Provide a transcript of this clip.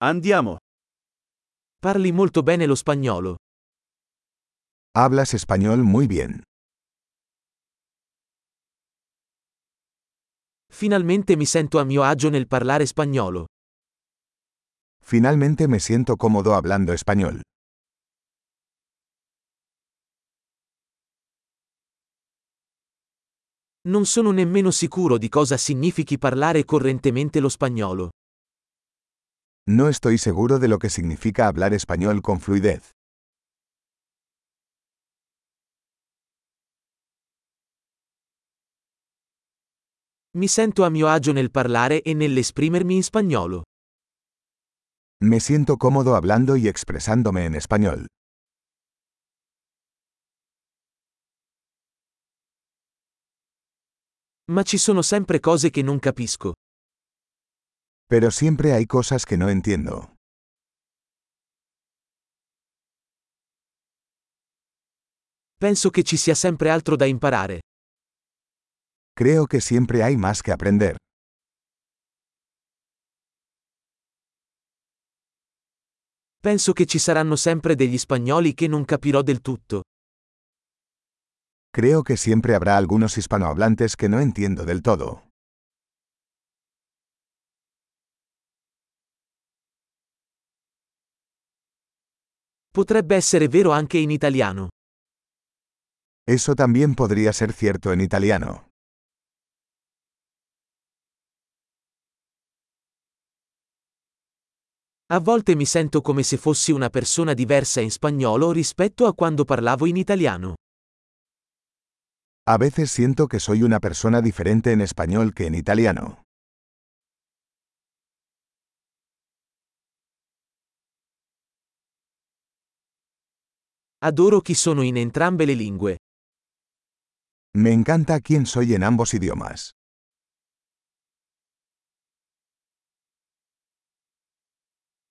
Andiamo. Parli molto bene lo spagnolo. Hablas español muy bien. Finalmente mi sento a mio agio nel parlare spagnolo. Finalmente me siento cómodo hablando español. Non sono nemmeno sicuro di cosa significhi parlare correntemente lo spagnolo. No estoy seguro de lo que significa hablar español con fluidez. Mi sento a mio agio nel parlare e nell'esprimermi in spagnolo. Me siento cómodo hablando y expresándome en español. Ma ci sono sempre cose che non capisco. Pero siempre hay cosas que no entiendo. Penso che ci sia sempre altro da imparare. Creo que siempre hay más que aprender. Penso che ci saranno sempre degli spagnoli che non capirò del tutto. Creo que siempre habrá algunos hispanohablantes que no entiendo del todo. Potrebbe essere vero anche in italiano. Eso también podría ser cierto en italiano. A volte mi sento come se fossi una persona diversa in spagnolo rispetto a quando parlavo in italiano. A veces siento que soy una persona diferente en español que en italiano. Adoro chi sono in entrambe le lingue. Me encanta quién soy en ambos idiomas.